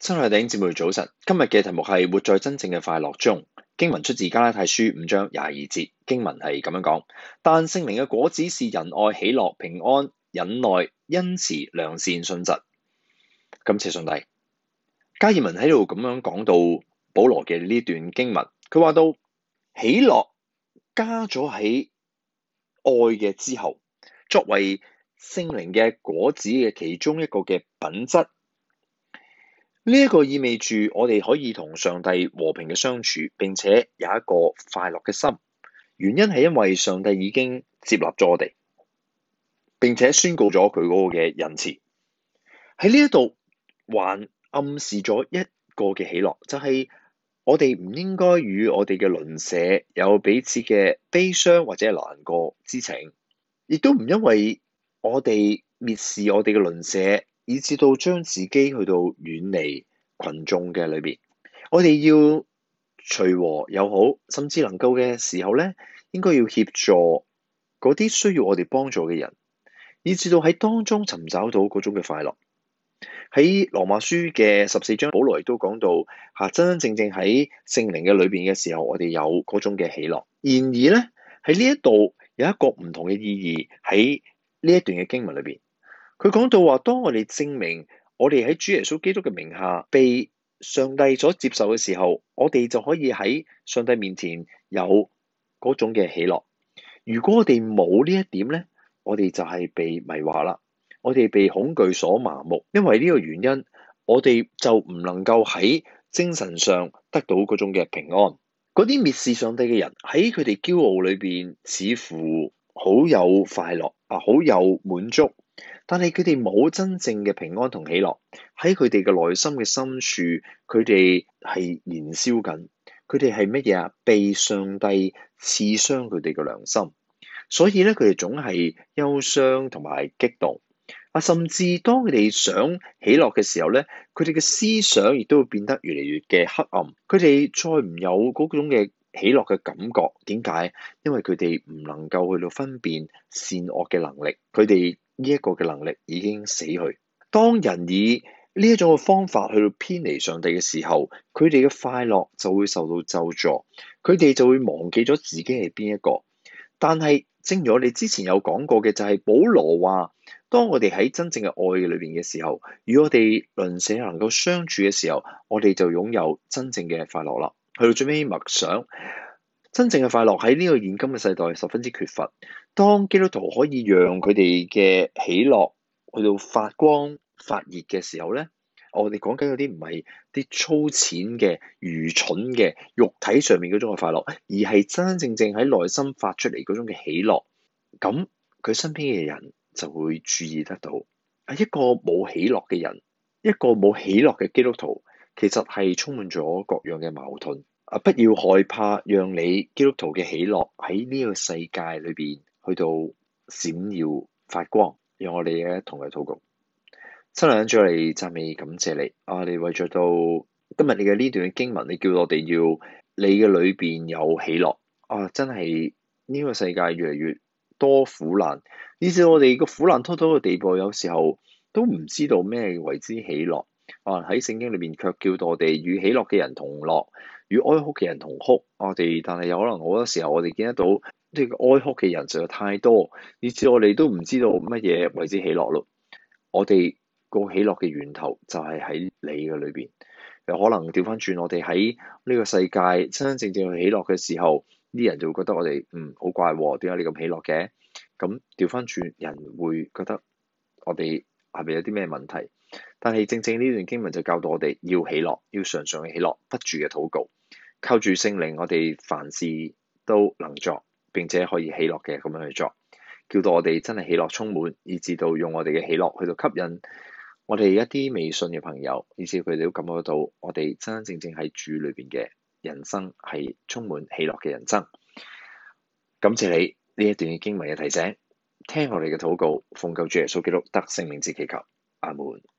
親愛的弟兄姊妹早晨，今日嘅題目係活在真正嘅快樂中。經文出自加拉太書5章22節，經文係咁樣講：但聖靈嘅果子是仁愛、喜樂、平安、忍耐、恩慈、良善、信實。感謝上帝。加爾文喺度咁樣講到保羅嘅呢段經文，佢話到喜樂加咗喺愛嘅之後，作為聖靈嘅果子嘅其中一個嘅品質。呢一個意味住我哋可以同上帝和平嘅相處，並且有一個快樂嘅心。原因係因為上帝已經接納咗我哋，並且宣告咗佢嗰個嘅仁慈。喺呢一度還暗示咗一個嘅喜樂，就係我哋唔應該與我哋嘅鄰舍有彼此嘅悲傷或者難過之情，亦都唔因為我哋蔑視我哋嘅鄰舍，以至到將自己去到遠離群眾嘅裏邊。我哋要隨和友好，甚至能夠嘅時候咧，應該要協助嗰啲需要我哋幫助嘅人，以至到喺當中尋找到嗰種嘅快樂。喺羅馬書嘅14章，保羅亦都講到真真正正喺聖靈嘅裏邊嘅時候，我哋有嗰種嘅喜樂。然而咧，喺呢一度有一個唔同嘅意義喺呢一段嘅經文裏邊。佢講到話，當我哋證明我哋喺主耶穌基督嘅名下被上帝所接受嘅時候，我哋就可以喺上帝面前有嗰種嘅喜樂。如果我哋冇呢一點咧，我哋就係被迷惑啦，我哋被恐懼所麻木。因為呢個原因，我哋就唔能夠喺精神上得到嗰種嘅平安。嗰啲蔑視上帝嘅人喺佢哋驕傲裏邊，似乎好有快樂好有滿足。但係佢哋冇真正嘅平安同喜樂，喺佢哋嘅內心嘅深處，佢哋係燃燒緊，佢哋係乜嘢？被上帝刺傷佢哋嘅良心，所以咧佢哋總係憂傷同埋激動甚至當佢哋想喜樂嘅時候咧，佢哋嘅思想亦都會變得越嚟越嘅黑暗，佢哋再唔有嗰種嘅喜樂嘅感覺。點解？因為佢哋唔能夠去到分辨善惡嘅能力，佢哋呢一個嘅能力已經死去。當人以呢一種嘅方法去到偏離上帝嘅時候，佢哋嘅快樂就會受到咒詛，佢哋就會忘記咗自己係邊一個。但係正如我哋之前有講過嘅，就係保羅話，當我哋喺真正嘅愛裏邊嘅時候，與我哋鄰舍能夠相處嘅時候，我哋就擁有真正嘅快樂啦。去到最尾默想，真正嘅快樂喺呢個現今嘅世代十分之缺乏。當基督徒可以讓佢哋嘅喜樂去到發光發熱嘅時候咧，我哋講緊嗰啲唔係啲粗淺嘅愚蠢嘅肉體上面嗰種嘅快樂，而係真真正正喺內心發出嚟嗰種嘅喜樂。咁佢身邊嘅人就會注意得到，一個冇喜樂嘅人，一個冇喜樂嘅基督徒，其實係充滿咗各樣嘅矛盾。不要害怕，讓你基督徒嘅喜樂喺呢個世界裏邊去到閃耀發光。讓我哋一同嚟禱告。親愛嘅主，嚟讚美感謝你。你為咗到今日你嘅呢段經文，你叫我哋要你嘅裏邊有喜樂。真係呢個世界越嚟越多苦難，以至我哋個苦難拖到嘅地步，有時候都唔知道咩為之喜樂。喺聖經裏邊卻叫到我哋與喜樂嘅人同樂，與哀哭嘅人同哭。但係有可能好多時候我哋見得到呢個哀哭嘅人實在太多，以至我哋都唔知道乜嘢為之喜樂咯。我哋個喜樂嘅源頭就係喺你嘅裏邊。有可能調翻轉，我哋喺呢個世界真真正正去喜樂嘅時候，啲人就會覺得我哋好怪喎，點解你咁喜樂嘅？咁調翻轉，人會覺得我哋係咪有啲咩問題？但係正正呢段經文就教導我哋要喜樂，要常常嘅喜樂，不住嘅禱告，靠住聖靈，我哋凡事都能作，並且可以喜樂嘅咁樣去作，叫到我哋真係喜樂充滿，以至到用我哋嘅喜樂去到吸引我哋一啲未信嘅朋友，以至佢哋都感覺到我哋真真正正喺主裏邊嘅人生係充滿喜樂嘅人生。感謝你呢一段嘅經文嘅提醒，聽我哋嘅禱告，奉救主耶穌基督得勝名字祈求，阿門。